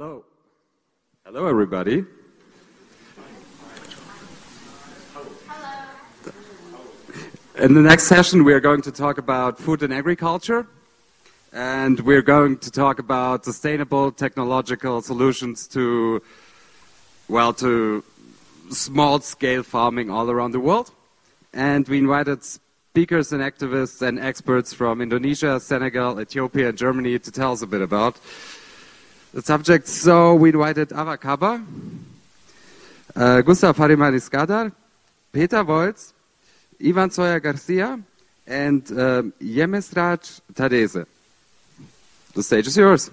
Hello. Hello, everybody. In the next session, we are going to talk about food and agriculture, and we're going to talk about sustainable technological solutions to small-scale farming all around the world. And we invited speakers and activists and experts from Indonesia, Senegal, Ethiopia, and Germany to tell us a bit about the subject. So we invited Awa Kaba, Gustav Hariman Iskandar, Peter Volz, Ivan Soya Garcia, and Yemesraj Tadeze. The stage is yours.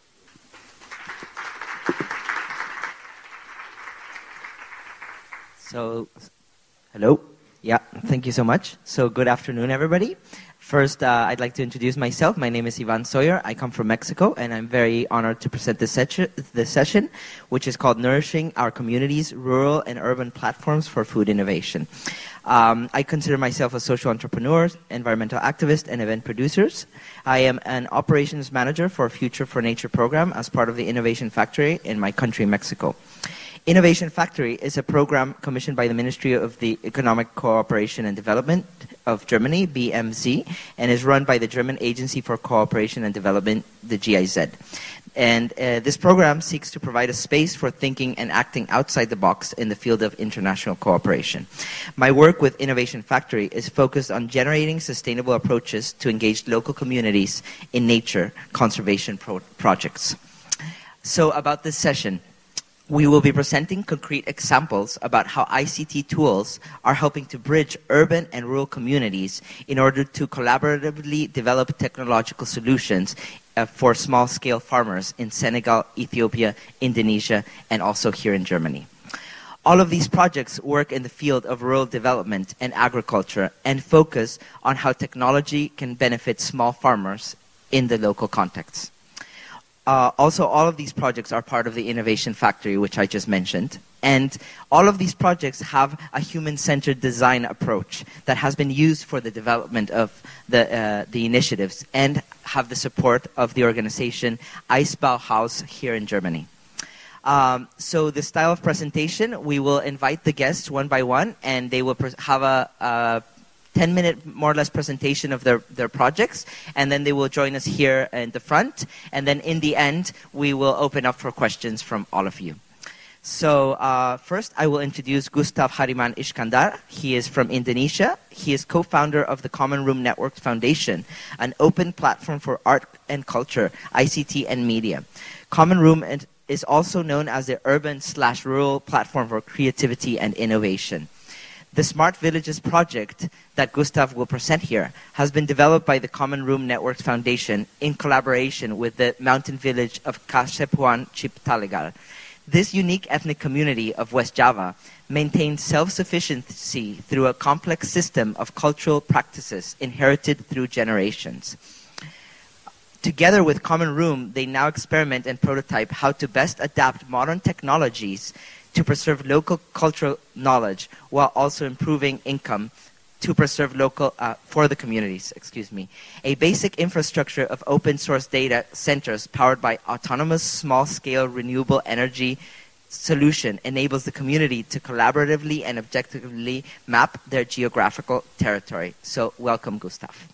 So, hello. Yeah, thank you so much. So, good afternoon, everybody. First, I'd like to introduce myself. My name is Ivan Sawyer. I come from Mexico, and I'm very honored to present this session, which is called Nourishing Our Communities, Rural and Urban Platforms for Food Innovation. I consider myself a social entrepreneur, environmental activist, and event producer. I am an operations manager for Future for Nature program as part of the Innovation Factory in my country, Mexico. Innovation Factory is a program commissioned by the Ministry of the Economic Cooperation and Development of Germany, BMZ, and is run by the German Agency for Cooperation and Development, the GIZ. And this program seeks to provide a space for thinking and acting outside the box in the field of international cooperation. My work with Innovation Factory is focused on generating sustainable approaches to engage local communities in nature conservation projects. So about this session, we will be presenting concrete examples about how ICT tools are helping to bridge urban and rural communities in order to collaboratively develop technological solutions for small-scale farmers in Senegal, Ethiopia, Indonesia, and also here in Germany. All of these projects work in the field of rural development and agriculture and focus on how technology can benefit small farmers in the local context. Also, all of these projects are part of the Innovation Factory, which I just mentioned. And all of these projects have a human-centered design approach that has been used for the development of the initiatives and have the support of the organization Eisbauhaus here in Germany. So the style of presentation, we will invite the guests one by one, and they will have a 10-minute, more or less, presentation of their projects, and then they will join us here in the front, and then in the end, we will open up for questions from all of you. So first, I will introduce Gustav Hariman Iskandar. He is from Indonesia. He is co-founder of the Common Room Network Foundation, an open platform for art and culture, ICT, and media. Common Room is also known as the urban/rural platform for creativity and innovation. The Smart Villages project that Gustav will present here has been developed by the Common Room Network Foundation in collaboration with the mountain village of Kasepuan Ciptalegal. This unique ethnic community of West Java maintains self-sufficiency through a complex system of cultural practices inherited through generations. Together with Common Room, they now experiment and prototype how to best adapt modern technologies to preserve local cultural knowledge while also improving income to preserve local for the communities. A basic infrastructure of open source data centers powered by autonomous small-scale renewable energy solution enables the community to collaboratively and objectively map their geographical territory. So welcome, Gustav.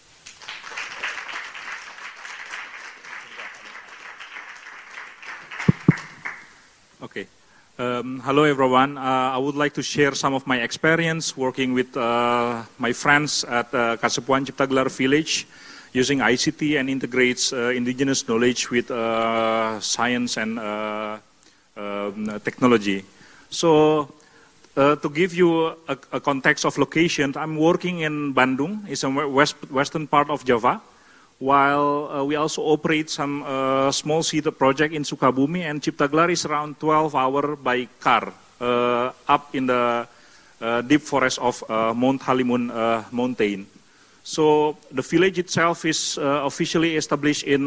Okay. Hello everyone. I would like to share some of my experience working with my friends at Kasepuan Ciptalegal village using ICT and integrates indigenous knowledge with science and technology. So to give you a context of location, I'm working in Bandung, it's a western part of Java, while we also operate some small seed project in Sukabumi, and Ciptalegal is around 12 hours by car up in the deep forest of Mount Halimun mountain. So the village itself is officially established in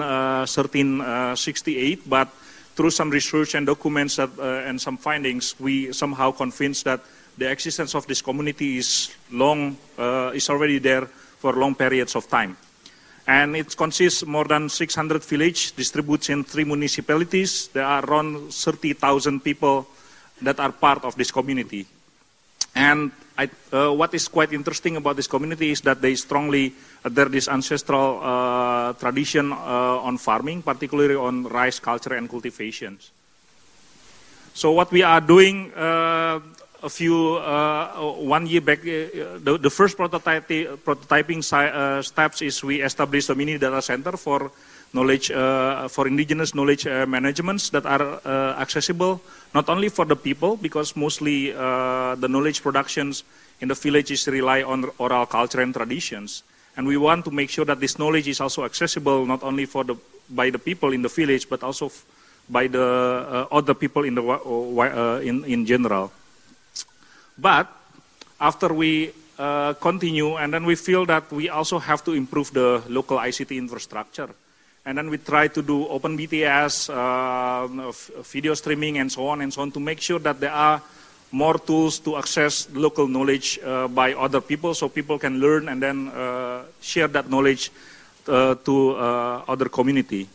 1368, but through some research and documents that, and some findings, we somehow convinced that the existence of this community is already there for long periods of time. And it consists more than 600 villages distributed in 3 municipalities. There are around 30,000 people that are part of this community. And what is quite interesting about this community is that they strongly adhere this ancestral tradition on farming, particularly on rice culture and cultivations. So what we are doing 1 year back, the first prototyping steps is we established a mini data center for knowledge, for indigenous knowledge managements that are accessible not only for the people, because mostly the knowledge productions in the villages rely on oral culture and traditions. And we want to make sure that this knowledge is also accessible not only by the people in the village, but also by the other people in general. But after we continue, and then we feel that we also have to improve the local ICT infrastructure. And then we try to do open BTS, video streaming, and so on to make sure that there are more tools to access local knowledge by other people, so people can learn and then share that knowledge to other community.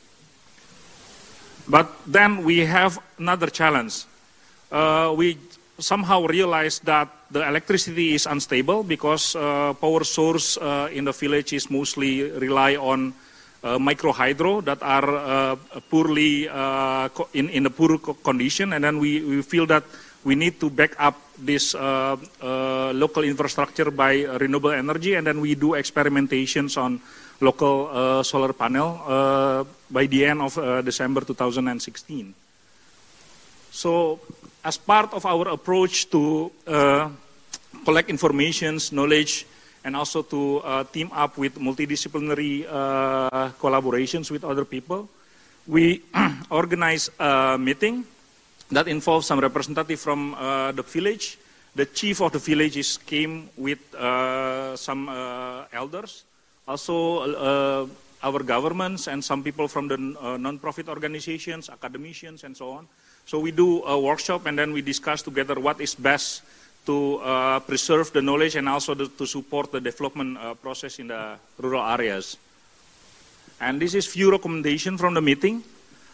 But then we have another challenge. We somehow realized that the electricity is unstable because power source in the village is mostly rely on micro hydro that are poorly in a poor condition, and then we feel that we need to back up this local infrastructure by renewable energy, and then we do experimentations on local solar panel by the end of December 2016. So as part of our approach to collect information, knowledge, and also to team up with multidisciplinary collaborations with other people, we organize a meeting that involves some representative from the village. The chief of the village came with some elders, also our governments and some people from the non-profit organizations, academicians, and so on. So we do a workshop, and then we discuss together what is best to preserve the knowledge and also to support the development process in the rural areas. And this is few recommendations from the meeting.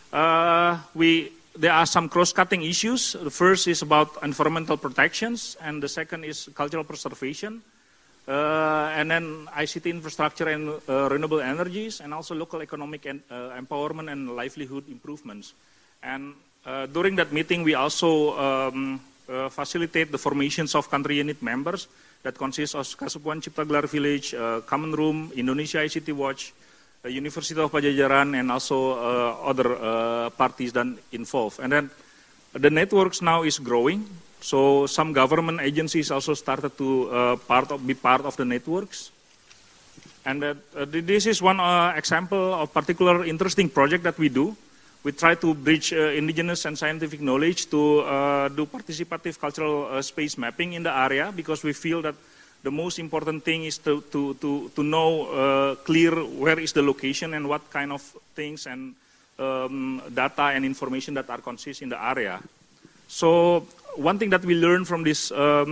There are some cross-cutting issues. The first is about environmental protections, and the second is cultural preservation, and then ICT infrastructure and renewable energies, and also local economic and empowerment and livelihood improvements. And during that meeting, we also facilitate the formations of country unit members that consists of Kasepuan Cipta Gelar Village, Common Room, Indonesia ICT Watch, University of Pajajaran, and also other parties that involved. And then the networks now is growing, so some government agencies also started to be part of the networks. And this is one example of particular interesting project that we do. We try to bridge indigenous and scientific knowledge to do participative cultural space mapping in the area, because we feel that the most important thing is to know clear where is the location and what kind of things and data and information that are consist in the area. So one thing that we learned from this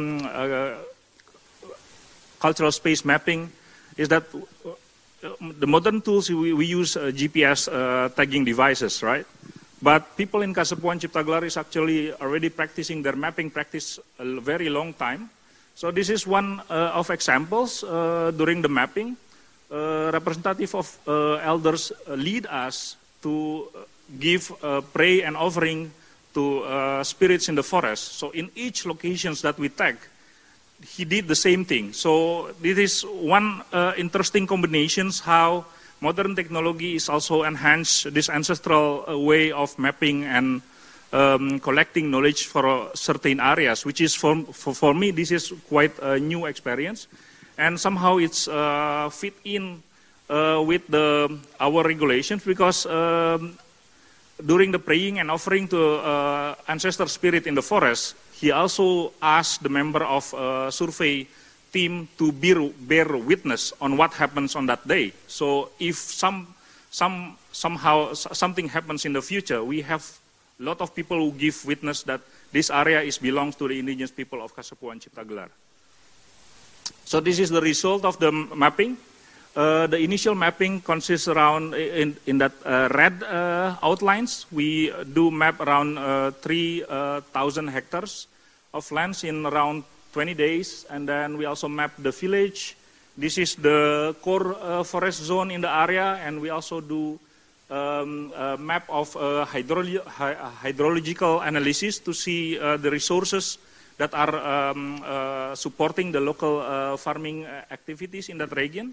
cultural space mapping is that the modern tools, we use GPS tagging devices, right? But people in Kasepuan Cipta Gelar is actually already practicing their mapping practice a very long time. So this is one of examples during the mapping. Representative of elders lead us to give pray and offering to spirits in the forest. So in each locations that we tag, he did the same thing. So this is one interesting combinations how modern technology is also enhanced this ancestral way of mapping and collecting knowledge for certain areas, which is for me, this is quite a new experience. And somehow it's fit in with our regulations, because during the praying and offering to ancestor spirit in the forest, he also asked the member of survey team to bear witness on what happens on that day. So if somehow something happens in the future, we have a lot of people who give witness that this area belongs to the indigenous people of Kasepuan Cipta Gelar. So this is the result of the mapping. The initial mapping consists around, in that red outlines, we do map around 3,000 hectares of lands in around 20 days. And then we also map the village. This is the core forest zone in the area. And we also do a map of hydrological analysis to see the resources that are supporting the local farming activities in that region.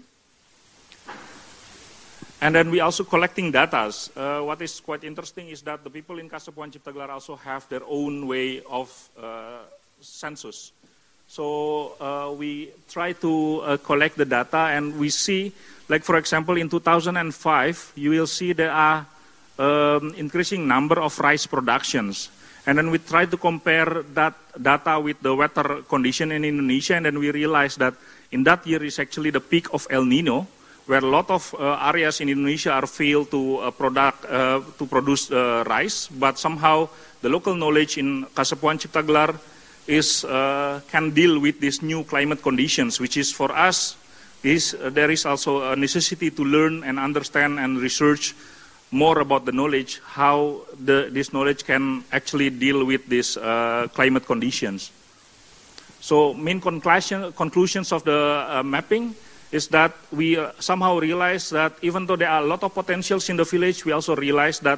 And then we also collecting data. What is quite interesting is that the people in Kasepuan Ciptagelar also have their own way of census. So we try to collect the data, and we see, like for example, in 2005, you will see there are increasing number of rice productions. And then we try to compare that data with the weather condition in Indonesia, and then we realize that in that year is actually the peak of El Nino, where a lot of areas in Indonesia are failed to produce rice, but somehow the local knowledge in Kasepuan Ciptagelar can deal with these new climate conditions, which is for us, there is also a necessity to learn and understand and research more about the knowledge, how this knowledge can actually deal with these climate conditions. So main conclusions of the mapping is that we somehow realize that even though there are a lot of potentials in the village, we also realize that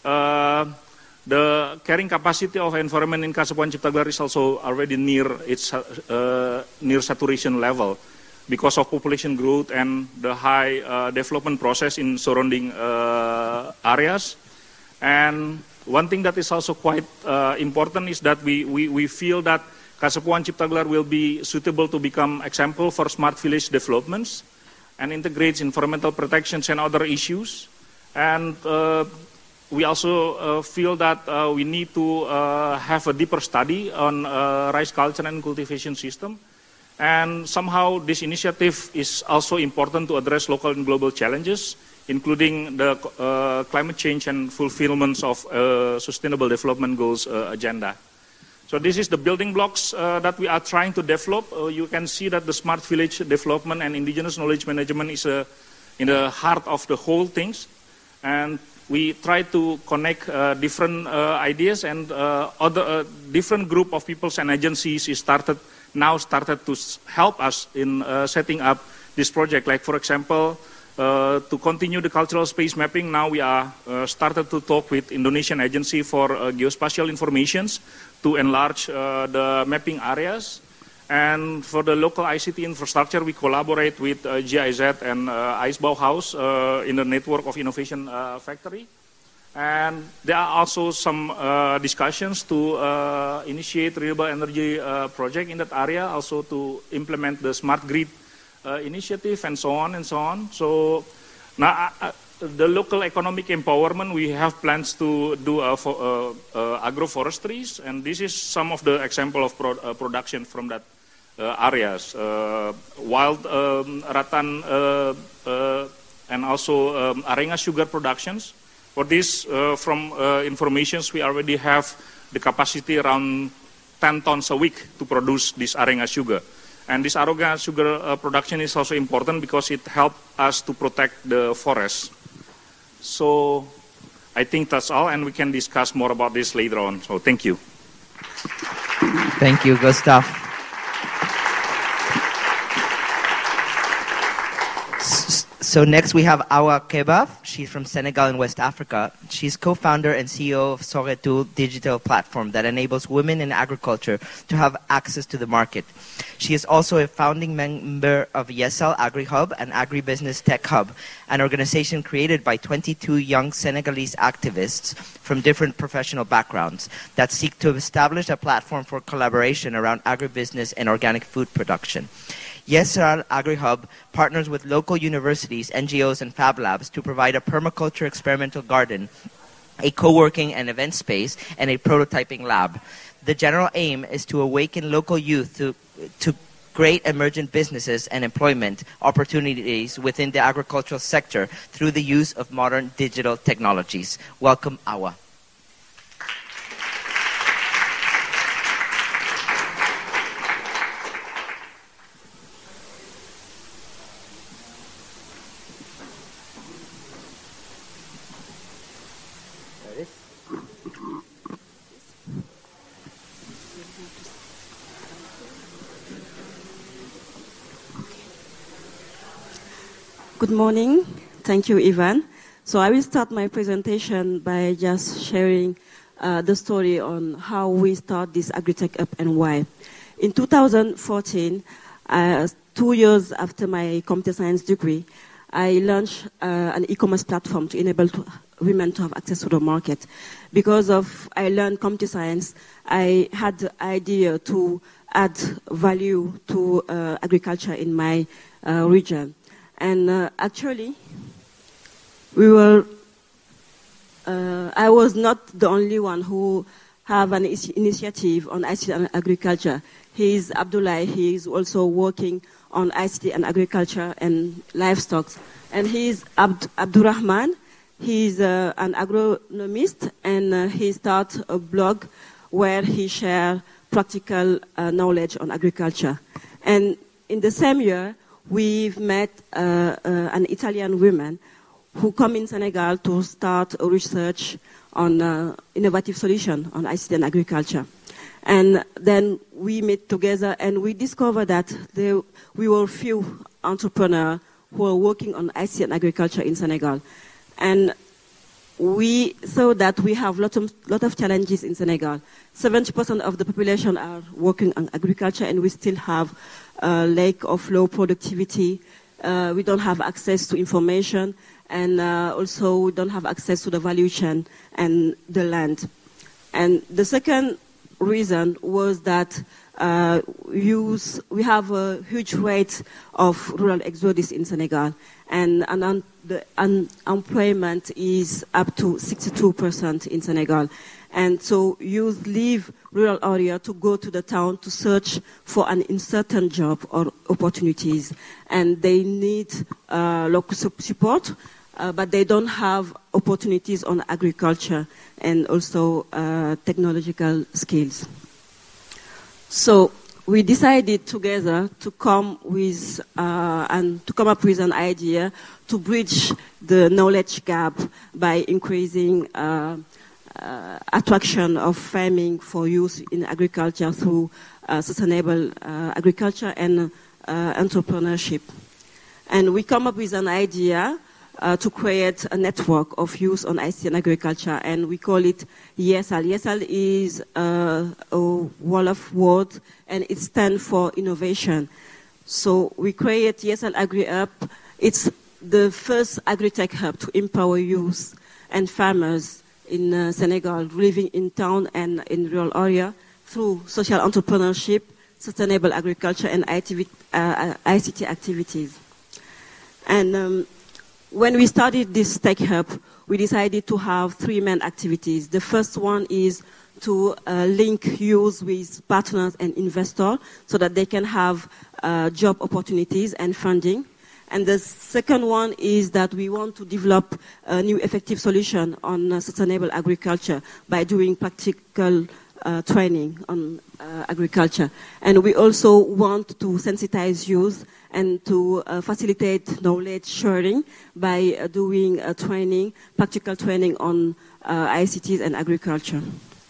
the carrying capacity of environment in Kasepuan Ciptagelar is also already near its near saturation level because of population growth and the high development process in surrounding areas. And one thing that is also quite important is that we feel that Kasepuan Ciptagelar will be suitable to become example for smart village developments and integrates environmental protections and other issues. And we also feel that we need to have a deeper study on rice culture and cultivation system. And somehow this initiative is also important to address local and global challenges, including the climate change and fulfillments of Sustainable Development Goals agenda. So this is the building blocks that we are trying to develop. You can see that the smart village development and indigenous knowledge management is in the heart of the whole things. And we try to connect different ideas, and other different group of peoples and agencies started to help us in setting up this project. Like for example, to continue the cultural space mapping, now we are started to talk with Indonesian Agency for Geospatial Informations to enlarge the mapping areas. And for the local ICT infrastructure, we collaborate with GIZ and IJsbouwhuis in the network of Innovation Factory. And there are also some discussions to initiate renewable energy project in that area, also to implement the smart grid initiative and so on and so on. So now the local economic empowerment, we have plans to do agroforestries, and this is some of the example of production from that areas. Wild rattan and also arenga sugar productions. For this, from informations, we already have the capacity around 10 tons a week to produce this arenga sugar. And this arenga sugar production is also important because it helps us to protect the forest. So I think that's all, and we can discuss more about this later on. So thank you. Thank you, Gustav. So next we have Awa Kebaf. She's from Senegal in West Africa. She's co-founder and CEO of Soretul digital platform that enables women in agriculture to have access to the market. She is also a founding member of Yesel AgriHub, an agribusiness tech hub, an organization created by 22 young Senegalese activists from different professional backgrounds that seek to establish a platform for collaboration around agribusiness and organic food production. Yesel AgriHub partners with local universities, NGOs, and Fab Labs to provide a permaculture experimental garden, a co-working and event space, and a prototyping lab. The general aim is to awaken local youth to great emergent businesses and employment opportunities within the agricultural sector through the use of modern digital technologies. Welcome, Awa. Good morning. Thank you, Ivan. So I will start my presentation by just sharing the story on how we start this AgriTech Up and why. In 2014, 2 years after my computer science degree, I launched an e-commerce platform to enable women to have access to the market. Because I learned computer science, I had the idea to add value to agriculture in my region. And actually, I was not the only one who have an initiative on ICT and agriculture. He's Abdullah. He is also working on ICT and agriculture and livestock. And he's Abdurrahman. He's an agronomist, and he started a blog where he shares practical knowledge on agriculture. And in the same year, we've met an Italian woman who come in Senegal to start a research on innovative solution on ICT and agriculture. And then we met together and we discovered that we were few entrepreneurs who are working on ICT and agriculture in Senegal. And we saw that we have lot of challenges in Senegal. 70% of the population are working on agriculture, and we still have a lack of low productivity. We don't have access to information, and also we don't have access to the value chain and the land. And the second reason was that we have a huge rate of rural exodus in Senegal, and the unemployment is up to 62% in Senegal. And so youth leave rural area to go to the town to search for an uncertain job or opportunities. And they need local support, but they don't have opportunities on agriculture and also technological skills. So we decided together to come up with an idea to bridge the knowledge gap by increasing attraction of farming for youth in agriculture through sustainable agriculture and entrepreneurship. And we come up with an idea to create a network of youth on ICT and agriculture, and we call it YESAL. YESAL is a wall of words, and it stands for innovation. So we create YESAL Agri-Up. It's the first agri-tech hub to empower youth and farmers in Senegal, living in town and in rural area through social entrepreneurship, sustainable agriculture, and ICT activities. And when we started this tech hub, we decided to have 3 main activities. The first one is to link youth with partners and investors so that they can have job opportunities and funding. And the second one is that we want to develop a new effective solution on sustainable agriculture by doing practical training on agriculture. And we also want to sensitize youth and to facilitate knowledge sharing by doing practical training on ICTs and agriculture.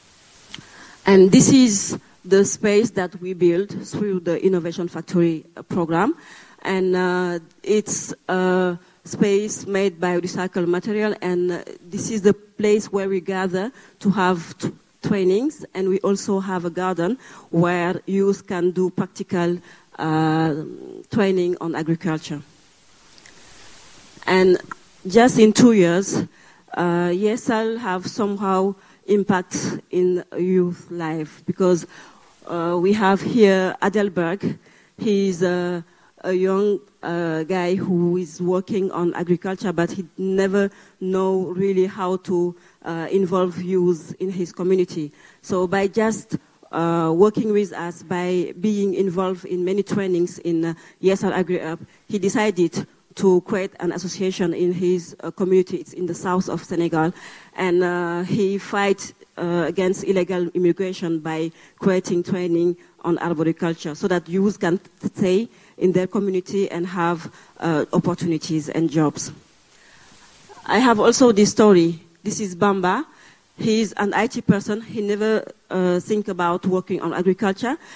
And this is the space that we built through the Innovation Factory program. And it's a space made by recycled material, and this is the place where we gather to have trainings, and we also have a garden where youth can do practical training on agriculture. And just in 2 years, YESAL have somehow impact in youth life, because we have here Adelberg. He's a young guy who is working on agriculture, but he never know really how to involve youth in his community. So by just working with us, by being involved in many trainings in YESAL Agri-Up, he decided to create an association in his community. It's in the south of Senegal, and he fights against illegal immigration by creating training on arboriculture so that youth can stay in their community and have opportunities and jobs. I have also this story. This is Bamba. He's an IT person. He never think about working on agriculture.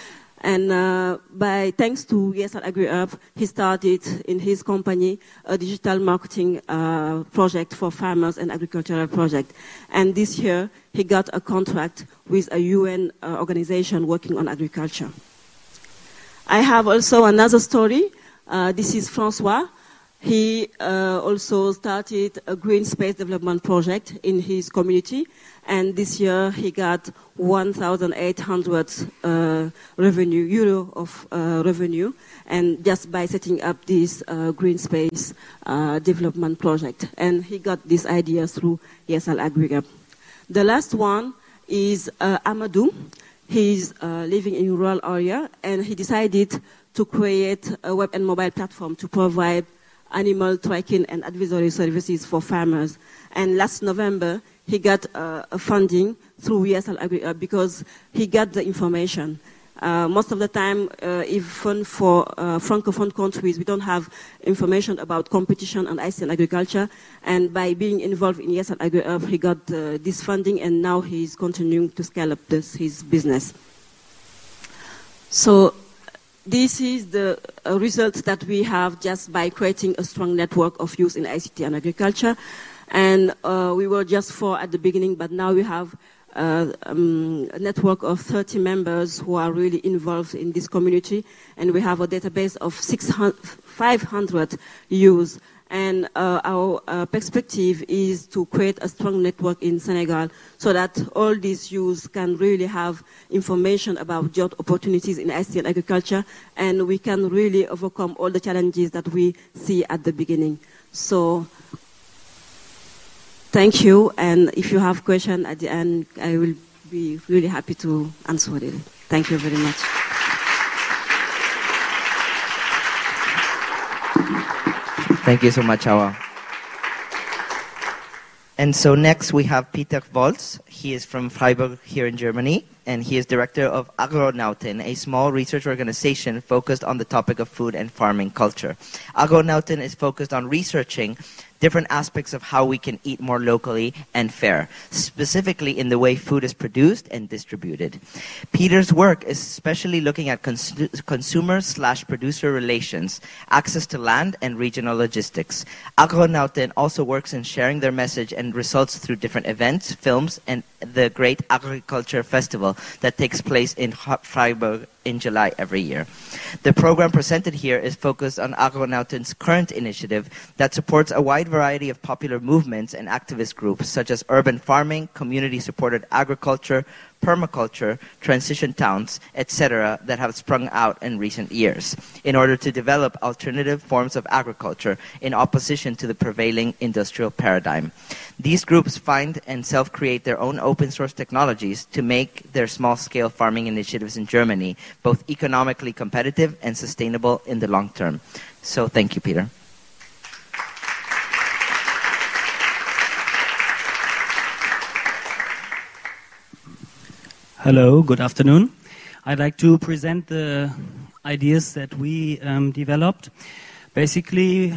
And thanks to ESL AgriHub, he started in his company a digital marketing project for farmers and agricultural project. And this year, he got a contract with a UN organization working on agriculture. I have also another story. This is Francois. He also started a green space development project in his community, and this year he got 1,800 euro of revenue, and just by setting up this green space development project. And he got this idea through ESL AgriHub. The last one is Amadou. He's living in a rural area, and he decided to create a web and mobile platform to provide animal tracking and advisory services for farmers. And last November, he got a funding through ESL AgriHub because he got the information. Most of the time, even for Francophone countries, we don't have information about competition on ICT and agriculture. And by being involved in ESL AgriHub, he got this funding, and now he's continuing to scale up his business. So this is the result that we have just by creating a strong network of youth in ICT and agriculture. And we were just 4 at the beginning, but now we have a network of 30 members who are really involved in this community. And we have a database of 500 youth. And our perspective is to create a strong network in Senegal so that all these youth can really have information about job opportunities in ICT and agriculture, and we can really overcome all the challenges that we see at the beginning. So, thank you, and if you have questions at the end, I will be really happy to answer it. Thank you very much. Thank you so much, Awa. And so next we have Peter Volz. He is from Freiburg here in Germany, and he is director of Agronauten, a small research organization focused on the topic of food and farming culture. Agronauten is focused on researching different aspects of how we can eat more locally and fair, specifically in the way food is produced and distributed. Peter's work is especially looking at consumer/producer relations, access to land, and regional logistics. Agronauten also works in sharing their message and results through different events, films, and the Great Agriculture Festival that takes place in Freiburg in July every year. The program presented here is focused on Agronauten's current initiative that supports a wide variety of popular movements and activist groups such as urban farming, community-supported agriculture, permaculture, transition towns, etc. that have sprung out in recent years in order to develop alternative forms of agriculture in opposition to the prevailing industrial paradigm. These groups find and self-create their own open-source technologies to make their small-scale farming initiatives in Germany both economically competitive and sustainable in the long term. So thank you, Peter. Hello, good afternoon. I'd like to present the ideas that we developed. Basically,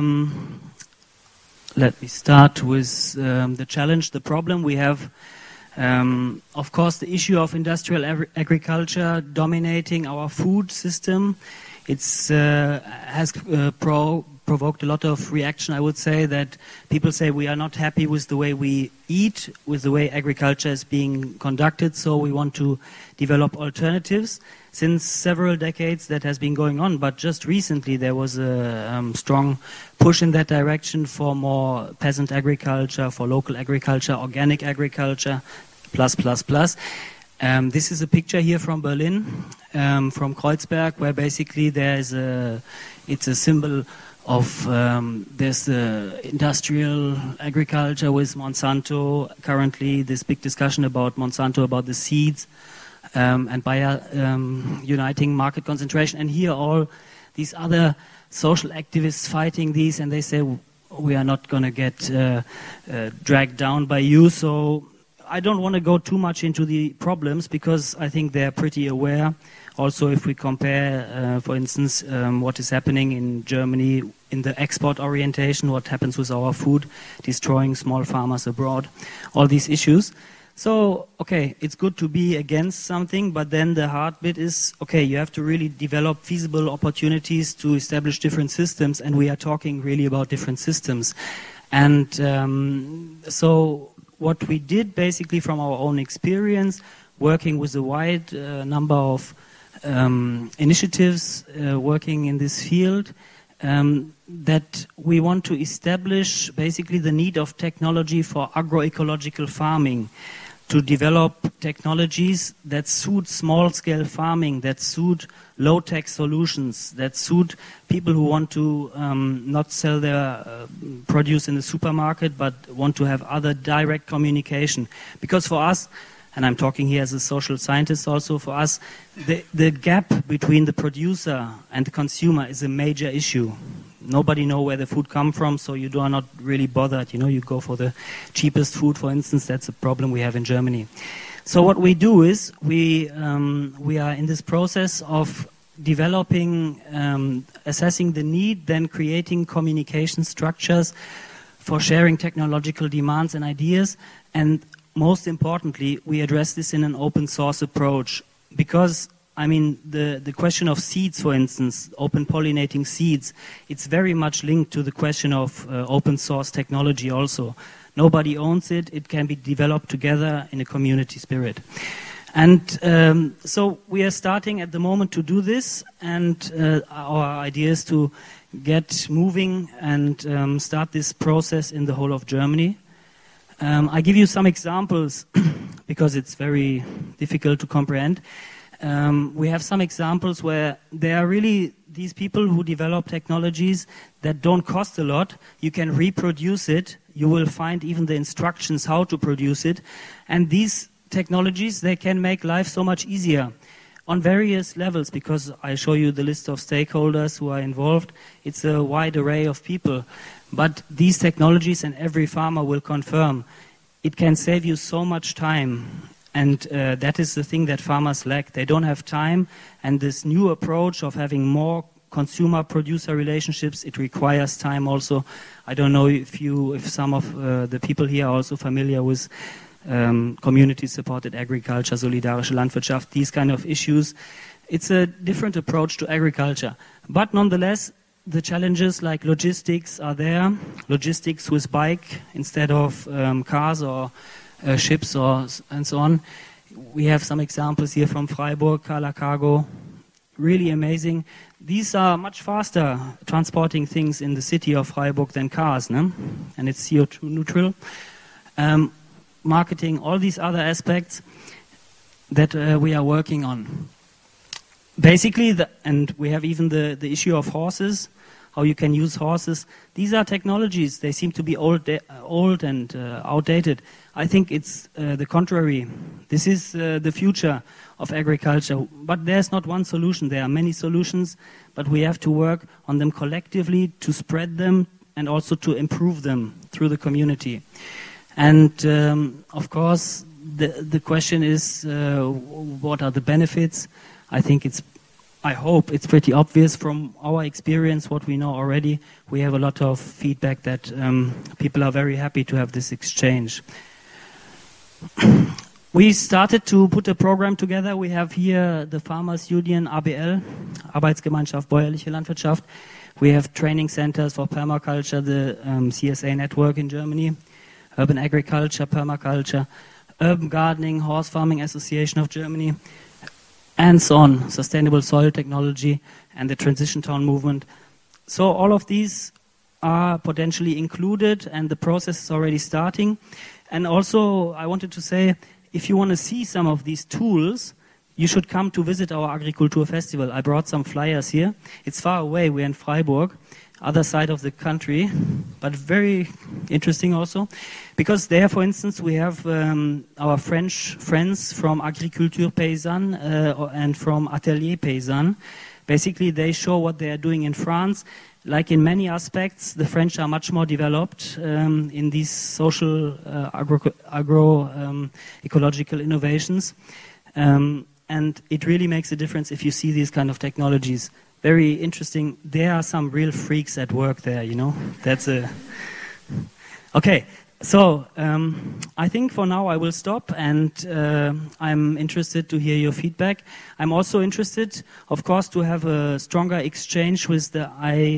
let me start with the challenge, the problem we have. Of course, the issue of industrial agriculture dominating our food system. It's has provoked a lot of reaction, I would say, that people say we are not happy with the way we eat, with the way agriculture is being conducted, so we want to develop alternatives. Since several decades that has been going on, but just recently there was a strong push in that direction for more peasant agriculture, for local agriculture, organic agriculture, plus. This is a picture here from Berlin, from Kreuzberg, where basically it's a symbol of there's the industrial agriculture with Monsanto. Currently, this big discussion about Monsanto, about the seeds, and Bayer uniting market concentration. And here all these other social activists fighting these, and they say we are not going to get dragged down by you. So I don't want to go too much into the problems because I think they're pretty aware. Also, if we compare, for instance, what is happening in Germany in the export orientation, what happens with our food, destroying small farmers abroad, all these issues. So, okay, it's good to be against something, but then the hard bit is, okay, you have to really develop feasible opportunities to establish different systems, and we are talking really about different systems. And so what we did basically from our own experience, working with a wide number of initiatives working in this field, that we want to establish basically the need of technology for agroecological farming, to develop technologies that suit small-scale farming, that suit low-tech solutions, that suit people who want to not sell their produce in the supermarket, but want to have other direct communication. Because for us, and I'm talking here as a social scientist also, for us, the gap between the producer and the consumer is a major issue. Nobody knows where the food comes from, so you are not really bothered. You know, you go for the cheapest food, for instance. That's a problem we have in Germany. So what we do is we are in this process of developing, assessing the need, then creating communication structures for sharing technological demands and ideas, and most importantly, we address this in an open source approach, because I mean, the question of seeds, for instance, open pollinating seeds, it's very much linked to the question of open source technology also. Nobody owns it. It can be developed together in a community spirit. And so we are starting at the moment to do this, and our idea is to get moving and start this process in the whole of Germany. I give you some examples because it's very difficult to comprehend. We have some examples where there are really these people who develop technologies that don't cost a lot. You can reproduce it. You will find even the instructions how to produce it. And these technologies, they can make life so much easier on various levels, because I show you the list of stakeholders who are involved. It's a wide array of people. But these technologies, and every farmer will confirm, it can save you so much time. And that is the thing that farmers lack. They don't have time, and this new approach of having more consumer-producer relationships, it requires time also. I don't know if some of the people here are also familiar with community-supported agriculture, solidarische Landwirtschaft, these kind of issues. It's a different approach to agriculture. But nonetheless, the challenges like logistics are there. Logistics with bike instead of cars or ships and so on. We have some examples here from Freiburg, Kala Cargo, really amazing. These are much faster transporting things in the city of Freiburg than cars, no? And it's CO2 neutral. Marketing, all these other aspects that we are working on. Basically, and we have even the issue of horses, how you can use horses. These are technologies. They seem to be old and outdated. I think it's the contrary. This is the future of agriculture. But there's not one solution. There are many solutions, but we have to work on them collectively to spread them and also to improve them through the community. And of course, the question is, what are the benefits? I hope it's pretty obvious from our experience, what we know already. We have a lot of feedback that people are very happy to have this exchange. We started to put a program together. We have here the Farmers Union, ABL, Arbeitsgemeinschaft Bäuerliche Landwirtschaft. We have training centers for permaculture, the CSA network in Germany, Urban Agriculture, Permaculture, Urban Gardening, Horse Farming Association of Germany, and so on, Sustainable Soil Technology, and the Transition Town Movement. So all of these are potentially included, and the process is already starting. And also, I wanted to say, if you want to see some of these tools, you should come to visit our Agriculture Festival. I brought some flyers here. It's far away, we're in Freiburg, other side of the country, but very interesting also. Because there, for instance, we have our French friends from Agriculture Paysanne and from Atelier Paysanne. Basically, they show what they are doing in France. Like in many aspects, the French are much more developed in these social ecological innovations. And it really makes a difference if you see these kind of technologies. Very interesting. There are some real freaks at work there, you know. That's a... Okay, So, I think for now I will stop, and I'm interested to hear your feedback. I'm also interested, of course, to have a stronger exchange with the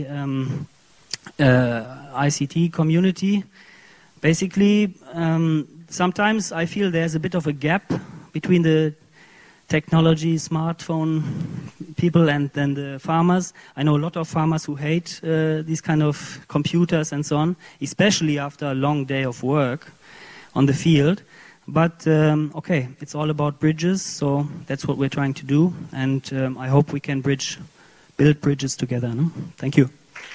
ICT community. Basically, sometimes I feel there's a bit of a gap between the technology, smartphone people and then the farmers. I know a lot of farmers who hate these kind of computers and so on, especially after a long day of work on the field. But okay, it's all about bridges, so that's what we're trying to do, and I hope we can build bridges together. No? Thank you.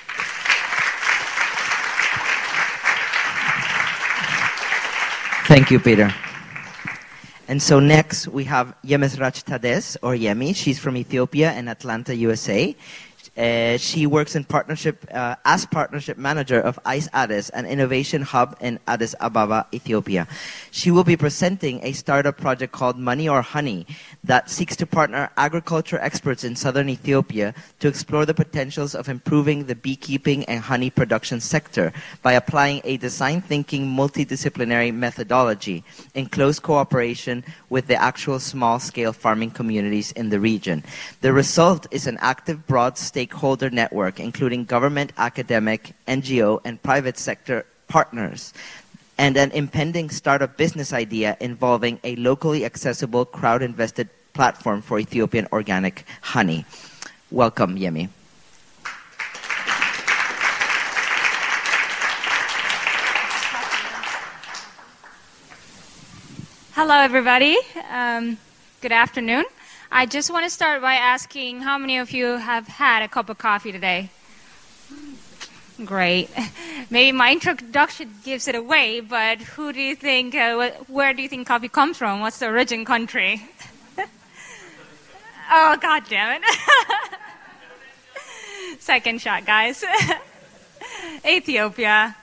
Thank you, Peter. And so next we have Yemesrach Tades, or Yemi. She's from Ethiopia and Atlanta, USA. She works in partnership as partnership manager of ICE Addis, an innovation hub in Addis Ababa, Ethiopia. She will be presenting a startup project called Money or Honey that seeks to partner agriculture experts in southern Ethiopia to explore the potentials of improving the beekeeping and honey production sector by applying a design thinking multidisciplinary methodology in close cooperation with the actual small-scale farming communities in the region. The result is an active, broad stakeholder network, including government, academic, NGO, and private sector partners, and an impending startup business idea involving a locally accessible, crowd-invested platform for Ethiopian organic honey. Welcome, Yemi. Hello, everybody. Good afternoon. I just want to start by asking how many of you have had a cup of coffee today? Great. Maybe my introduction gives it away, but who do you think, where do you think coffee comes from? What's the origin country? Oh, God damn it. Second shot, guys. Ethiopia.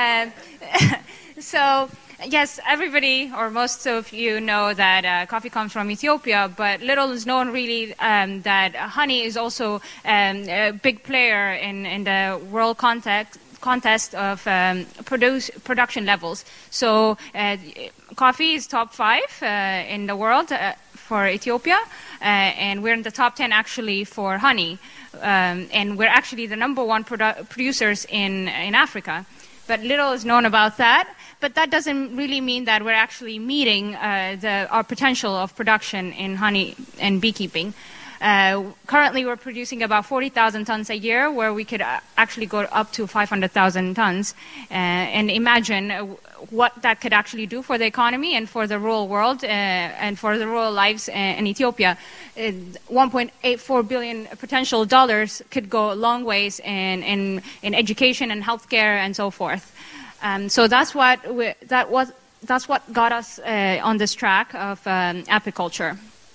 So, yes, everybody, or most of you know that coffee comes from Ethiopia, but little is known really that honey is also a big player in the world contest of production levels. So coffee is top 5 in the world for Ethiopia, and we're in the top 10 actually for honey. And we're actually the number 1 producers in Africa. But little is known about that. But that doesn't really mean that we're actually meeting our potential of production in honey and beekeeping. Currently, we're producing about 40,000 tons a year, where we could actually go up to 500,000 tons. And imagine what that could actually do for the economy and for the rural world and for the rural lives in Ethiopia. $1.84 billion potential dollars could go a long ways in education and healthcare and so forth. So that's what got us on this track of apiculture.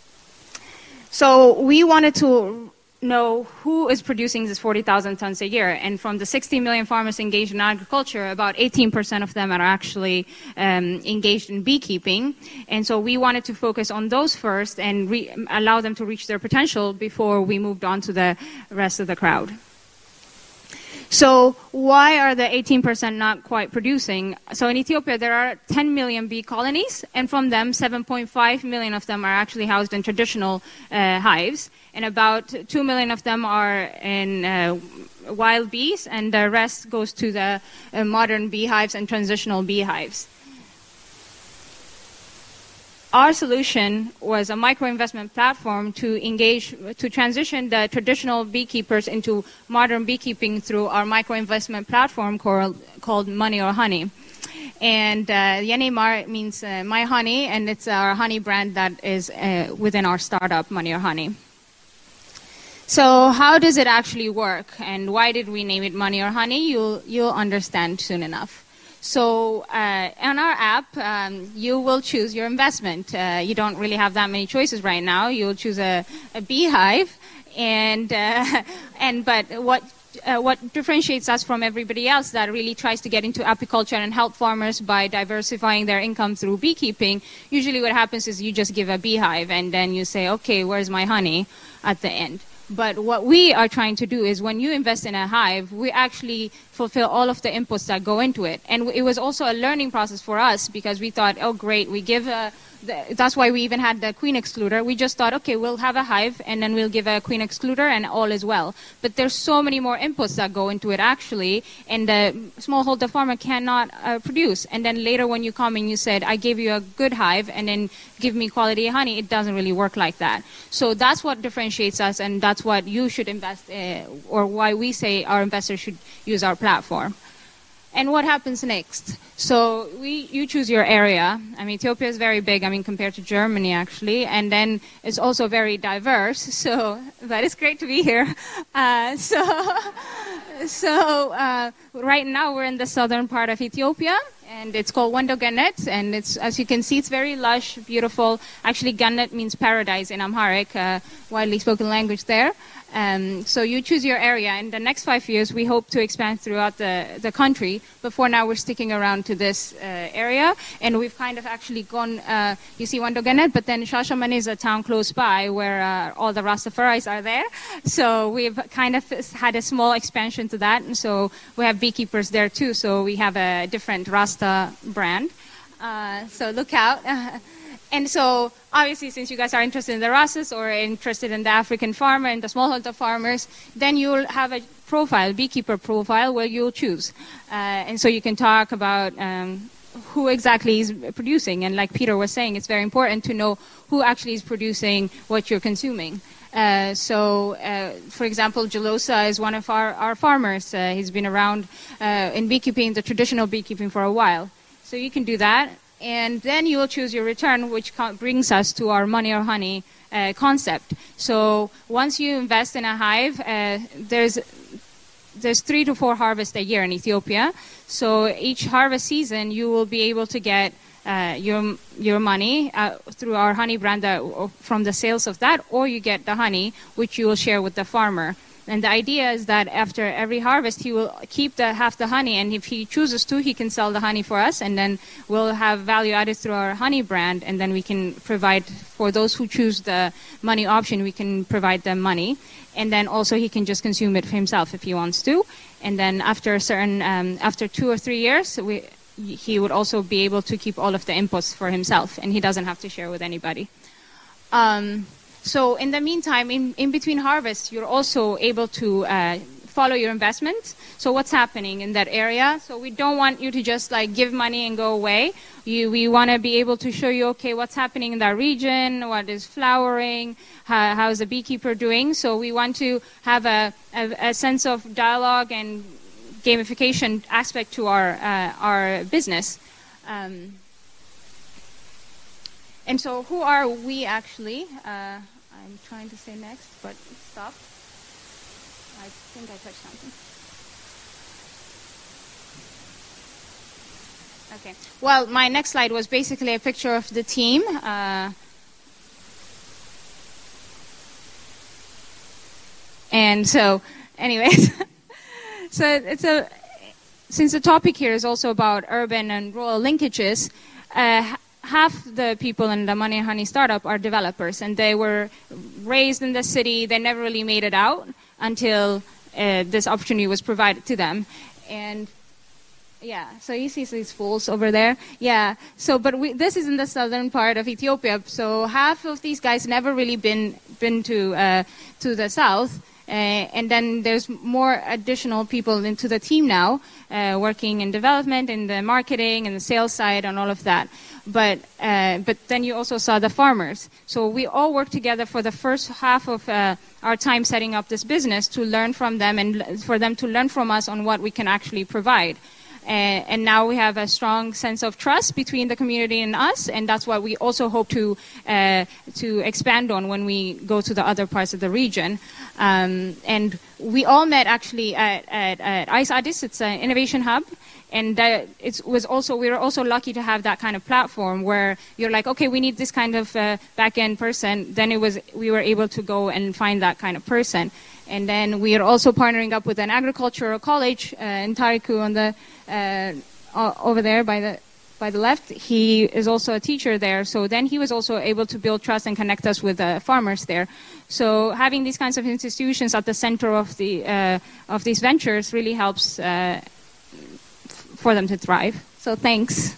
So we wanted to know who is producing this 40,000 tons a year, and from the 60 million farmers engaged in agriculture, about 18% of them are actually engaged in beekeeping. And so we wanted to focus on those first and allow them to reach their potential before we moved on to the rest of the crowd. So why are the 18% not quite producing? So in Ethiopia, there are 10 million bee colonies, and from them, 7.5 million of them are actually housed in traditional hives, and about 2 million of them are in wild bees, and the rest goes to the modern beehives and transitional beehives. Our solution was a micro-investment platform to transition the traditional beekeepers into modern beekeeping through our micro-investment platform called Money or Honey. And Yenimar means my honey, and it's our honey brand that is within our startup, Money or Honey. So how does it actually work, and why did we name it Money or Honey? You'll understand soon enough. So on our app, you will choose your investment. You don't really have that many choices right now. You'll choose a beehive, but what differentiates us from everybody else that really tries to get into apiculture and help farmers by diversifying their income through beekeeping, usually what happens is you just give a beehive and then you say, okay, where's my honey at the end? But what we are trying to do is when you invest in a hive, we actually fulfill all of the inputs that go into it. And it was also a learning process for us because we thought, oh, great, we give that's why we even had the queen excluder. We just thought, okay, we'll have a hive and then we'll give a queen excluder and all is well. But there's so many more inputs that go into it actually, and the smallholder farmer cannot produce. And then later when you come and you said, I gave you a good hive and then give me quality honey, it doesn't really work like that. So that's what differentiates us, and that's what you should invest in, or why we say our investors should use our platform. And what happens next? So you choose your area. I mean, Ethiopia is very big, compared to Germany, actually. And then it's also very diverse. So, but it's great to be here. So right now we're in the southern part of Ethiopia. And it's called Wando Gannet. And it's, as you can see, it's very lush, beautiful. Actually, Gannet means paradise in Amharic, widely spoken language there. So you choose your area. In the next 5 years, we hope to expand throughout the country. But for now, we're sticking around to this area. And we've kind of actually gone, you see Wando Gannet, but then Shashamane is a town close by where all the Rastafaris are there. So we've kind of had a small expansion to that. And so we have beekeepers there too. So we have a different Rasta brand. So look out. And so, obviously, since you guys are interested in the Rastas or interested in the African farmer and the smallholder farmers, then you'll have a profile, beekeeper profile, where you'll choose. And so you can talk about who exactly is producing. And like Peter was saying, it's very important to know who actually is producing what you're consuming. For example, Jalosa is one of our farmers. He's been around in beekeeping, the traditional beekeeping, for a while. So you can do that. And then you will choose your return, which brings us to our money or honey concept. So once you invest in a hive, there's 3 to 4 harvests a year in Ethiopia. So each harvest season, you will be able to get your money through our honey brand from the sales of that, or you get the honey, which you will share with the farmer. And the idea is that after every harvest, he will keep half the honey, and if he chooses to, he can sell the honey for us, and then we'll have value added through our honey brand, and then we can provide, for those who choose the money option, we can provide them money. And then also he can just consume it for himself if he wants to. And then after after 2 or 3 years, he would also be able to keep all of the inputs for himself, and he doesn't have to share with anybody. So in the meantime, in between harvests, you're also able to follow your investments. So what's happening in that area? So we don't want you to just give money and go away. We want to be able to show you, okay, what's happening in that region, what is flowering, how is the beekeeper doing. So we want to have a sense of dialogue and gamification aspect to our business. And so who are we actually? I'm trying to say next, but stop. I think I touched something. Okay. Well, my next slide was basically a picture of the team. And so, anyways, so since the topic here is also about urban and rural linkages, half the people in the Money and Honey startup are developers, and they were raised in the city. They never really made it out until this opportunity was provided to them. And yeah, so you see these fools over there. Yeah. So, but this is in the southern part of Ethiopia. So half of these guys never really been to the south. And then there's more additional people into the team now, working in development, in the marketing, and the sales side, and all of that. But then you also saw the farmers. So we all worked together for the first half of our time setting up this business to learn from them and for them to learn from us on what we can actually provide. And now we have a strong sense of trust between the community and us, and that's what we also hope to expand on when we go to the other parts of the region. And we all met actually at ICE Addis. It's an innovation hub. And we were also lucky to have that kind of platform where you're like, okay, we need this kind of back-end person. Then we were able to go and find that kind of person. And then we are also partnering up with an agricultural college in Tariku on the over there by the by the left, he is also a teacher there. So then he was also able to build trust and connect us with farmers there. So having these kinds of institutions at the center of these ventures really helps for them to thrive. So thanks.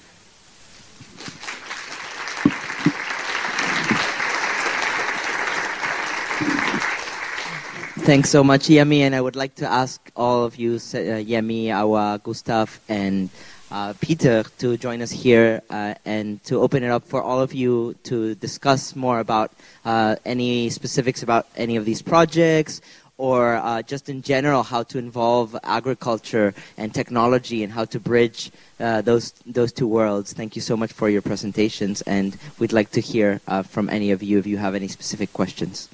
Thanks so much, Yemi, and I would like to ask all of you, Yemi, Awa, Gustav, and Peter, to join us here and to open it up for all of you to discuss more about any specifics about any of these projects, or just in general how to involve agriculture and technology and how to bridge those two worlds. Thank you so much for your presentations, and we'd like to hear from any of you if you have any specific questions.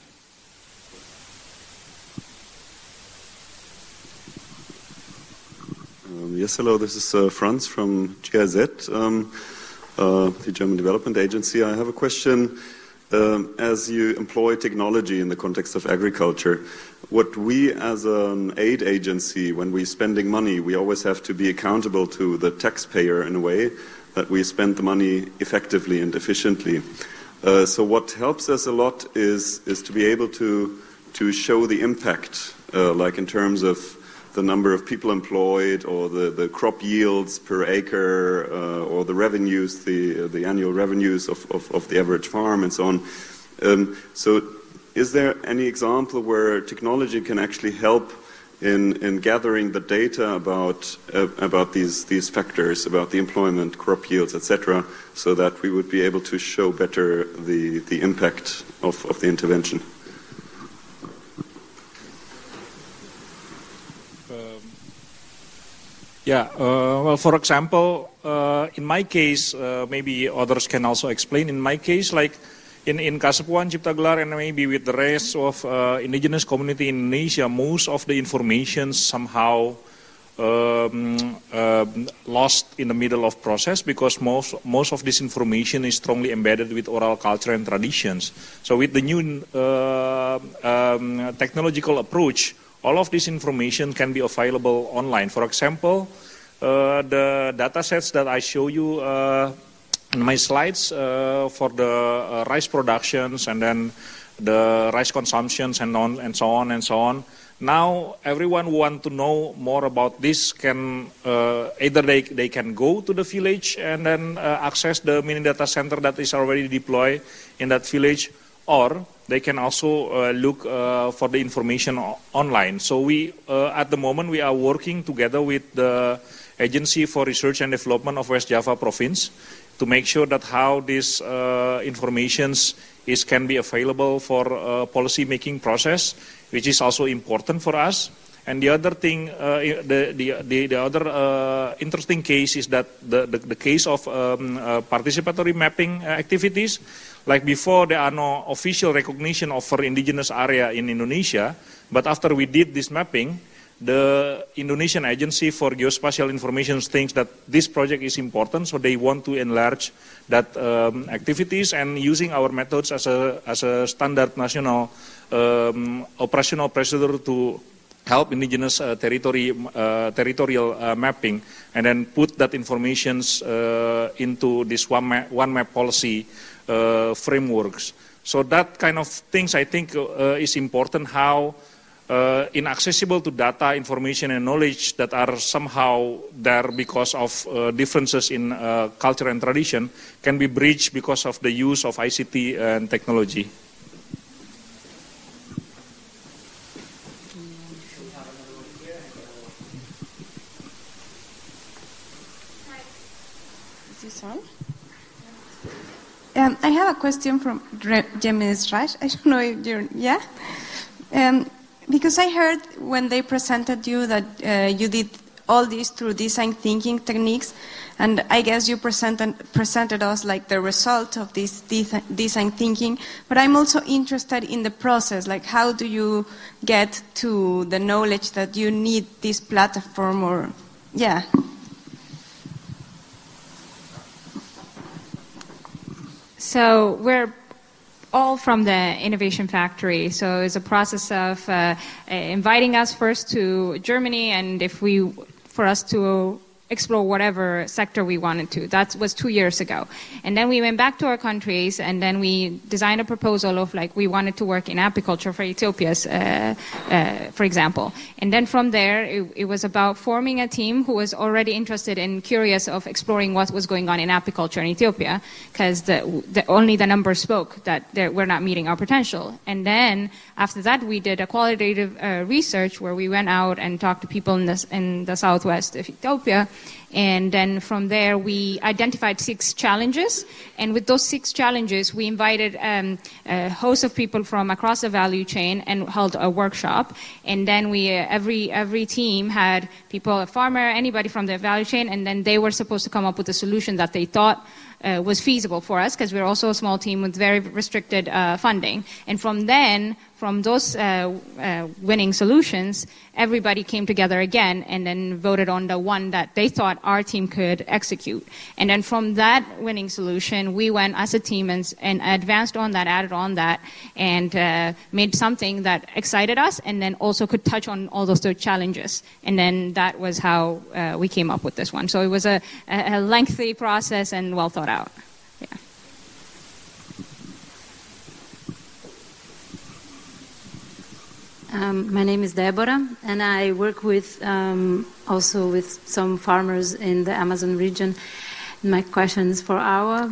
Yes, hello, this is Franz from GIZ, the German Development Agency. I have a question. As you employ technology in the context of agriculture, what we as an aid agency, when we're spending money, we always have to be accountable to the taxpayer in a way that we spend the money effectively and efficiently. So what helps us a lot is to be able to show the impact, like in terms of the number of people employed, or the crop yields per acre, or the revenues, the annual revenues of the average farm, and so on. So is there any example where technology can actually help in gathering the data about these factors, about the employment, crop yields, etc., so that we would be able to show better the impact of the intervention? Well, for example, in my case, maybe others can also explain. In my case, like in Kasepuan, Cipta Gelar, and maybe with the rest of indigenous community in Indonesia, most of the information somehow lost in the middle of process, because most of this information is strongly embedded with oral culture and traditions. So with the new technological approach, all of this information can be available online. For example, the data sets that I show you in my slides for the rice productions and then the rice consumptions and so on. Now, everyone who wants to know more about this can either they can go to the village and then access the mini data center that is already deployed in that village, or they can also look for the information online. So we, at the moment, we are working together with the Agency for Research and Development of West Java Province to make sure that how this information can be available for policy making process, which is also important for us. And the other thing, the other interesting case is that the case of participatory mapping activities. Like before, there are no official recognition of our indigenous area in Indonesia, but after we did this mapping, the Indonesian Agency for Geospatial Information thinks that this project is important, so they want to enlarge that activities, and using our methods as a standard national operational procedure to help indigenous territorial mapping, and then put that information into this one map policy frameworks. So that kind of things I think is important, how inaccessible to data, information and knowledge that are somehow there because of differences in culture and tradition can be bridged because of the use of ICT and technology. Is this on? I have a question from Jemis Raj. I don't know if you're, yeah? Because I heard when they presented you that you did all this through design thinking techniques, and I guess you presented us like the result of this design thinking, but I'm also interested in the process, like how do you get to the knowledge that you need this platform, or, yeah. So we're all from the Innovation Factory. So it's a process of inviting us first to Germany, and for us to explore whatever sector we wanted to. That was 2 years ago. And then we went back to our countries, and then we designed a proposal of like we wanted to work in apiculture for Ethiopia's, for example. And then from there, it was about forming a team who was already interested and curious of exploring what was going on in apiculture in Ethiopia, because only the numbers spoke that we're not meeting our potential. And then after that, we did a qualitative research where we went out and talked to people in the southwest of Ethiopia. And then from there, we identified 6 challenges. And with those 6 challenges, we invited a host of people from across the value chain and held a workshop. And then we every team had people, a farmer, anybody from the value chain, and then they were supposed to come up with a solution that they thought was feasible for us, because we're also a small team with very restricted funding. And from those winning solutions, everybody came together again and then voted on the one that they thought our team could execute. And then from that winning solution, we went as a team and advanced on that, added on that, and made something that excited us and then also could touch on all those 3 challenges. And then that was how we came up with this one. So it was a lengthy process and well thought out. Yeah. My name is Deborah, and I work with also with some farmers in the Amazon region. My question is for Awa.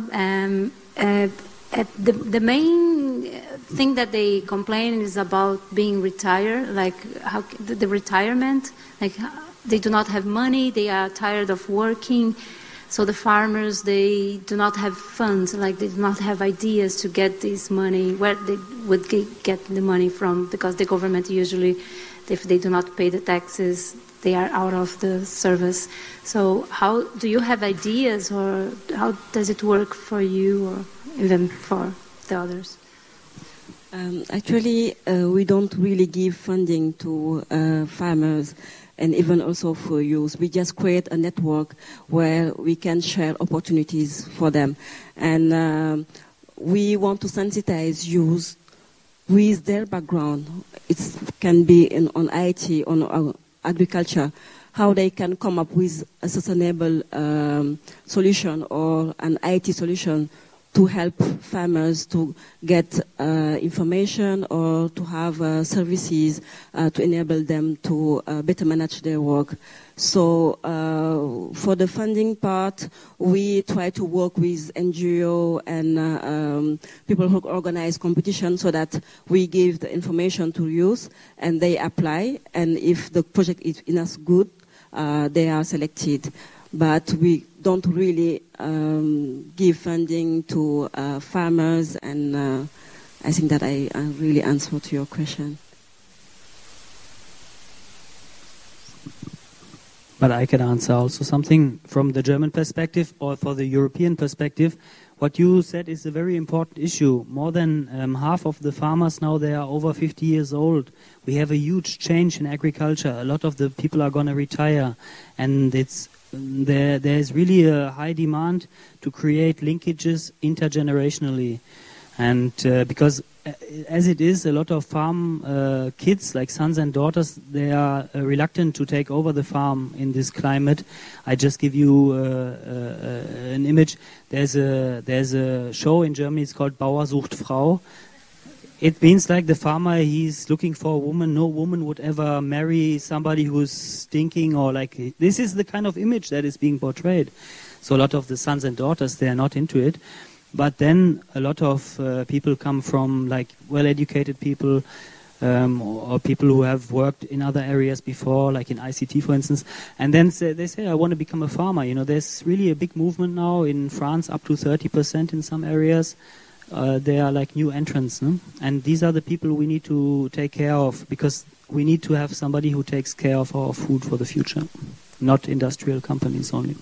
The main thing that they complain is about being retired, like how the retirement, like they do not have money, they are tired of working. So the farmers, they do not have funds, like they do not have ideas to get this money, where they would get the money from, because the government usually, if they do not pay the taxes, they are out of the service. So how do you have ideas, or how does it work for you, or even for the others? Actually, we don't really give funding to farmers, and even also for youth. We just create a network where we can share opportunities for them. And we want to sensitize youth with their background. It can be on IT, on agriculture, how they can come up with a sustainable solution or an IT solution to help farmers to get information or to have services to enable them to better manage their work. So for the funding part, we try to work with NGO and people who organize competition so that we give the information to youth and they apply. And if the project is enough good, they are selected. But we don't really give funding to farmers, and I think that I really answered to your question. But I can answer also something from the German perspective or for the European perspective. What you said is a very important issue. More than half of the farmers now, they are over 50 years old. We have a huge change in agriculture. A lot of the people are going to retire, and there is really a high demand to create linkages intergenerationally. And because as it is, a lot of farm kids, like sons and daughters, they are reluctant to take over the farm in this climate. I just give you an image. There's a show in Germany, it's called Bauer sucht Frau. It means like the farmer, he's looking for a woman. No woman would ever marry somebody who's stinking, or like, this is the kind of image that is being portrayed. So a lot of the sons and daughters, they are not into it. But then a lot of people come from like well-educated people or people who have worked in other areas before, like in ICT, for instance. And then they say, I want to become a farmer. You know, there's really a big movement now in France, up to 30% in some areas. They are like new entrants, no? And these are the people we need to take care of, because we need to have somebody who takes care of our food for the future, not industrial companies only.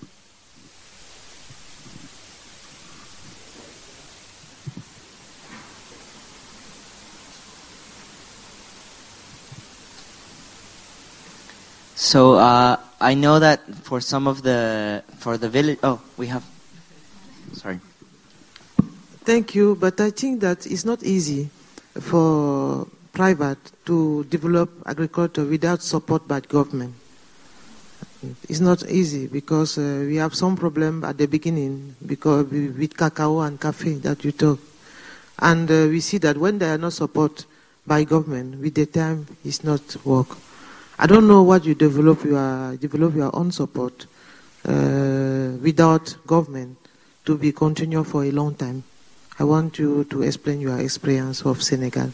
So I know that for the village. Oh, we have. Sorry. Thank you, but I think that it's not easy for private to develop agriculture without support by government. It's not easy because we have some problem at the beginning because with cacao and coffee that you talk. And we see that when they are not supported by government, with the time, it's not work. I don't know what you develop your own support without government to be continued for a long time. I want you to explain your experience of Senegal.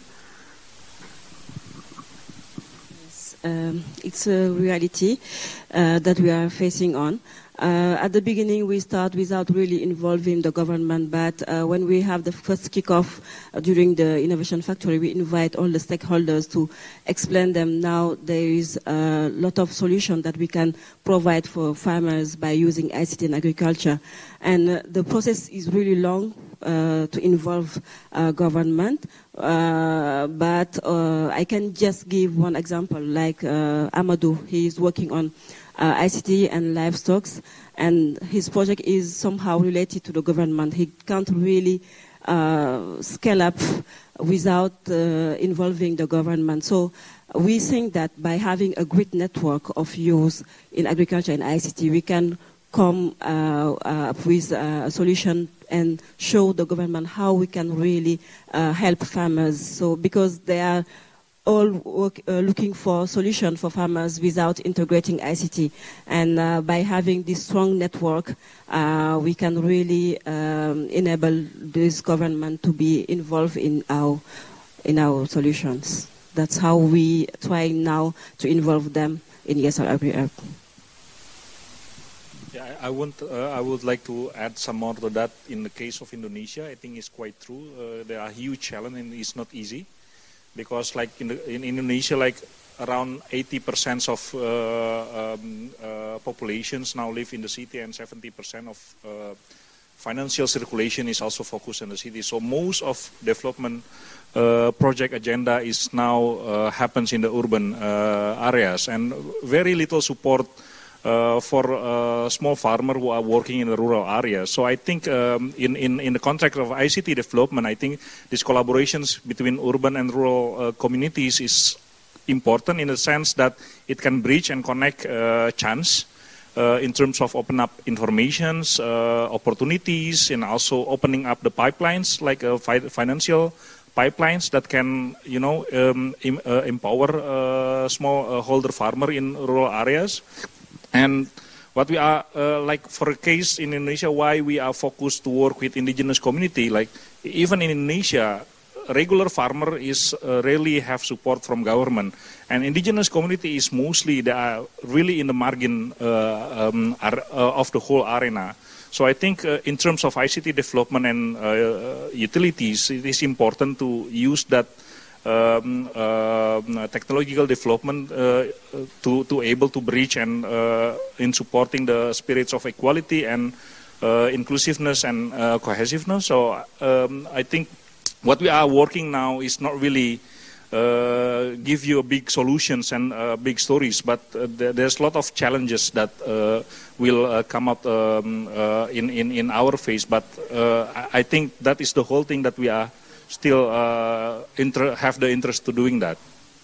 It's a reality that we are facing on. At the beginning, we start without really involving the government, but when we have the first kickoff during the Innovation Factory, we invite all the stakeholders to explain them now there is a lot of solutions that we can provide for farmers by using ICT in agriculture. And the process is really long to involve government, but I can just give one example, like Amadou, he is working on ICT and livestock, and his project is somehow related to the government. He can't really scale up without involving the government. So we think that by having a great network of youth in agriculture and ICT, we can come up with a solution and show the government how we can really help farmers. So because they are all looking for solutions for farmers without integrating ICT. And by having this strong network, we can really enable this government to be involved in our solutions. That's how we try now to involve them in ESR Agri-Herb. Yeah, I would like to add some more to that. In the case of Indonesia, I think it's quite true. There are huge challenges and it's not easy. Because like in Indonesia, like around 80% of populations now live in the city, and 70% of financial circulation is also focused in the city. So most of development project agenda is now happens in the urban areas, and very little support for small farmers who are working in the rural areas. So I think in the context of ICT development, I think these collaborations between urban and rural communities is important in the sense that it can bridge and connect chance in terms of open up informations, opportunities, and also opening up the pipelines like financial pipelines that can, empower smallholder farmer in rural areas. And what we are, like for a case in Indonesia, why we are focused to work with indigenous community, like even in Indonesia, regular farmer is rarely have support from government. And indigenous community is mostly, they are really in the margin of the whole arena. So I think in terms of ICT development and utilities, it is important to use that technological development to able to bridge and in supporting the spirits of equality and inclusiveness and cohesiveness. So I think what we are working now is not really give you a big solutions and big stories, but there's a lot of challenges that will come up in our face. But I think that is the whole thing that we are still have the interest to doing that.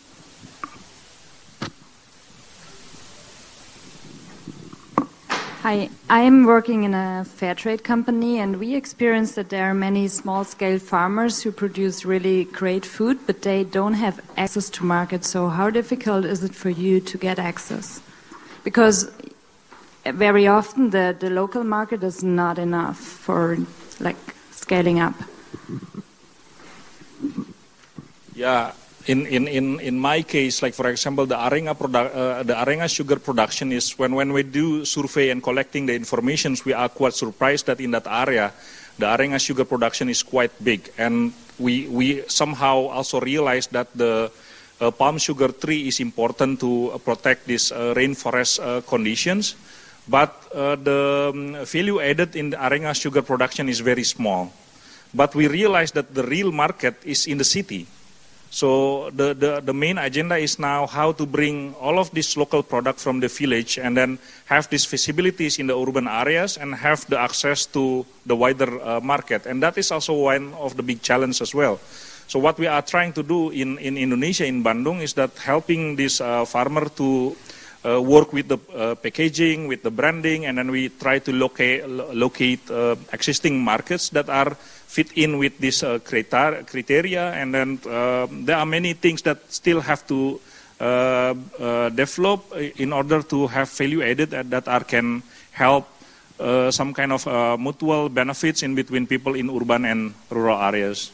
Hi, I am working in a fair trade company, and we experience that there are many small-scale farmers who produce really great food, but they don't have access to market. So how difficult is it for you to get access? Because very often the local market is not enough for like scaling up. Yeah, in my case, like for example, the Arenga sugar production is when we do survey and collecting the information, we are quite surprised that in that area, the Arenga sugar production is quite big, and we somehow also realized that the palm sugar tree is important to protect these rainforest conditions, but the value added in the Arenga sugar production is very small. But we realized that the real market is in the city. So the main agenda is now how to bring all of this local product from the village and then have these visibilities in the urban areas and have the access to the wider market. And that is also one of the big challenges as well. So what we are trying to do in Indonesia, in Bandung, is that helping this farmer to work with the packaging, with the branding, and then we try to locate existing markets that are fit in with this criteria. And then there are many things that still have to develop in order to have value added that can help some kind of mutual benefits in between people in urban and rural areas.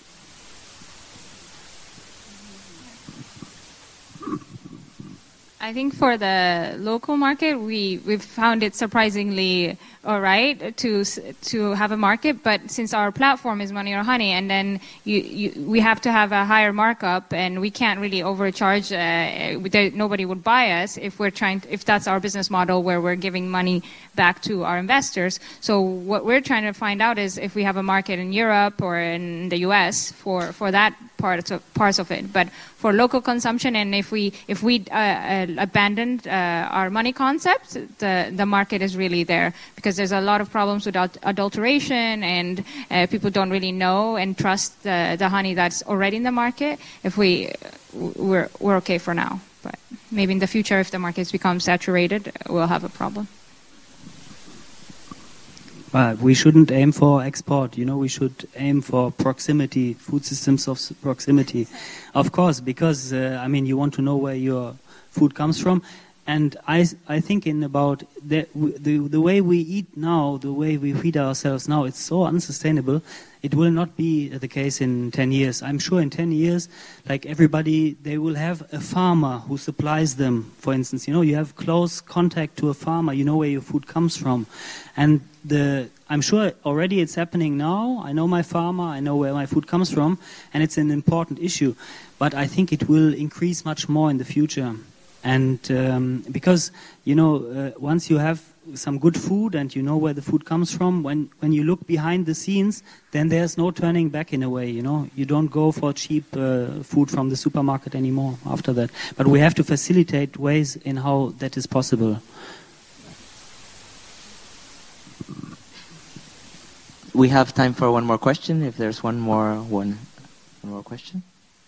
I think for the local market, we've found it surprisingly all right to have a market. But since our platform is Money or Honey, and then we have to have a higher markup, and we can't really overcharge. Nobody would buy us if that's our business model where we're giving money back to our investors. So what we're trying to find out is if we have a market in Europe or in the U.S. for that parts of it. But for local consumption, and if we abandoned our money concept, the market is really there, because there's a lot of problems with adulteration, and people don't really know and trust the honey that's already in the market. If we're okay for now, but maybe in the future, if the markets become saturated, we'll have a problem. But we shouldn't aim for export, we should aim for proximity, food systems of proximity. Of course, because, you want to know where your food comes from. And I think in about the way we eat now, the way we feed ourselves now, it's so unsustainable. It will not be the case in 10 years. I'm sure in 10 years, like everybody, they will have a farmer who supplies them. For instance, you have close contact to a farmer. You know where your food comes from. And I'm sure already it's happening now. I know my farmer. I know where my food comes from. And it's an important issue. But I think it will increase much more in the future. And because, once you have some good food and you know where the food comes from, when you look behind the scenes, then there's no turning back in a way, You don't go for cheap food from the supermarket anymore after that. But we have to facilitate ways in how that is possible. We have time for one more question, if there's one more question.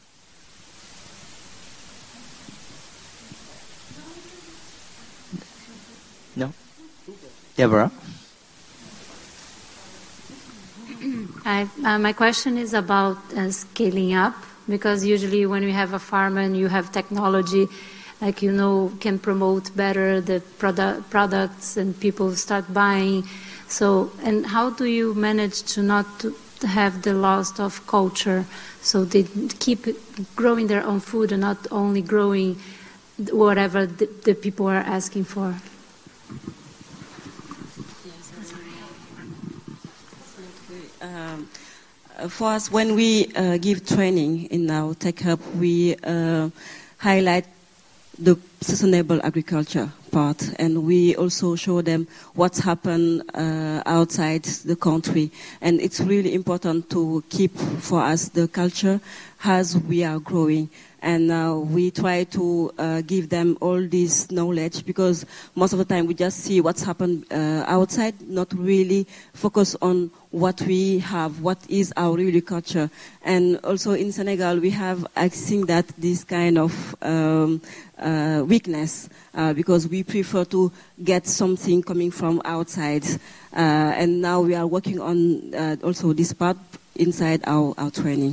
No? Deborah? My question is about scaling up, because usually when you have a farm and you have technology, can promote better the products and people start buying. So, and how do you manage to not have the loss of culture, so they keep growing their own food and not only growing whatever the people are asking for? For us, when we give training in our Tech Hub, we highlight the sustainable agriculture part, and we also show them what's happened outside the country. And it's really important to keep for us the culture as we are growing. And we try to give them all this knowledge, because most of the time we just see what's happened outside, not really focus on what we have, what is our real culture. And also in Senegal, we have, I think, that this kind of weakness, because we prefer to get something coming from outside. And now we are working on also this part inside our training.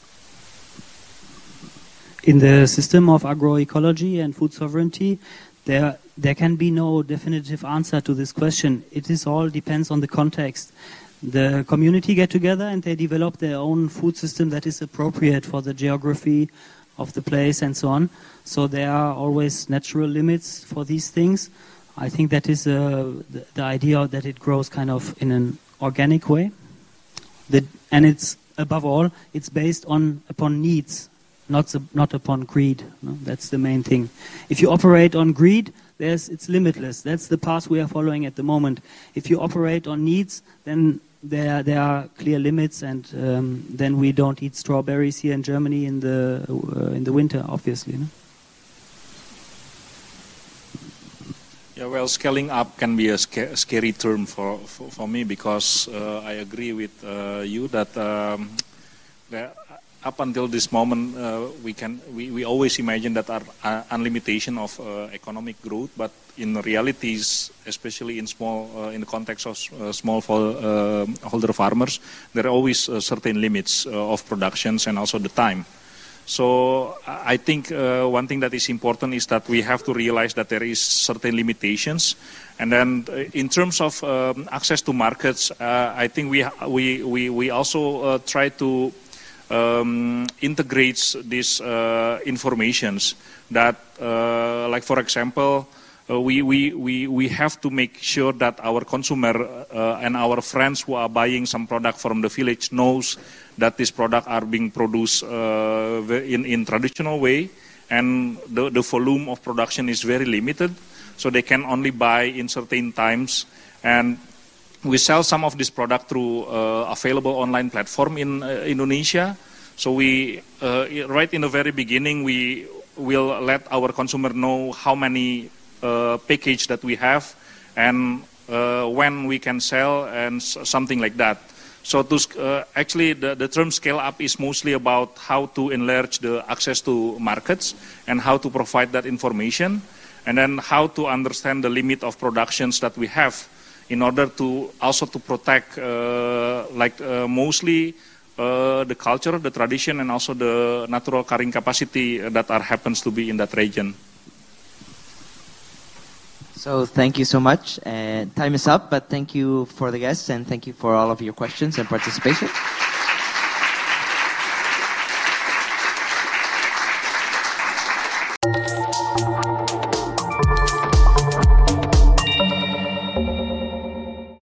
In the system of agroecology and food sovereignty, there can be no definitive answer to this question. It all depends on the context. The community get together and they develop their own food system that is appropriate for the geography of the place and so on. So there are always natural limits for these things. I think that is the idea that it grows kind of in an organic way. And it's, above all, it's based upon needs, not upon greed. No? That's the main thing. If you operate on greed, it's limitless. That's the path we are following at the moment. If you operate on needs, then there are clear limits, and then we don't eat strawberries here in Germany in the winter, obviously. No? Yeah, well, scaling up can be a scary term for me, because I agree with you that up until this moment, we always imagine that our unlimitation of economic growth, but in realities, especially in the context of smallholder farmers, there are always certain limits of productions and also the time. So I think one thing that is important is that we have to realize that there is certain limitations, and then in terms of access to markets, I think we also try to integrates these informations that, like for example, we have to make sure that our consumer and our friends who are buying some product from the village knows that these products are being produced in traditional way, and the volume of production is very limited, so they can only buy in certain times. And we sell some of this product through available online platform in Indonesia. So we, right in the very beginning, we will let our consumer know how many package that we have and when we can sell and something like that. So actually the term scale up is mostly about how to enlarge the access to markets and how to provide that information, and then how to understand the limit of productions that we have in order to also to protect mostly the culture, the tradition, and also the natural carrying capacity that happens to be in that region. So thank you so much. Time is up, but thank you for the guests and thank you for all of your questions and participation.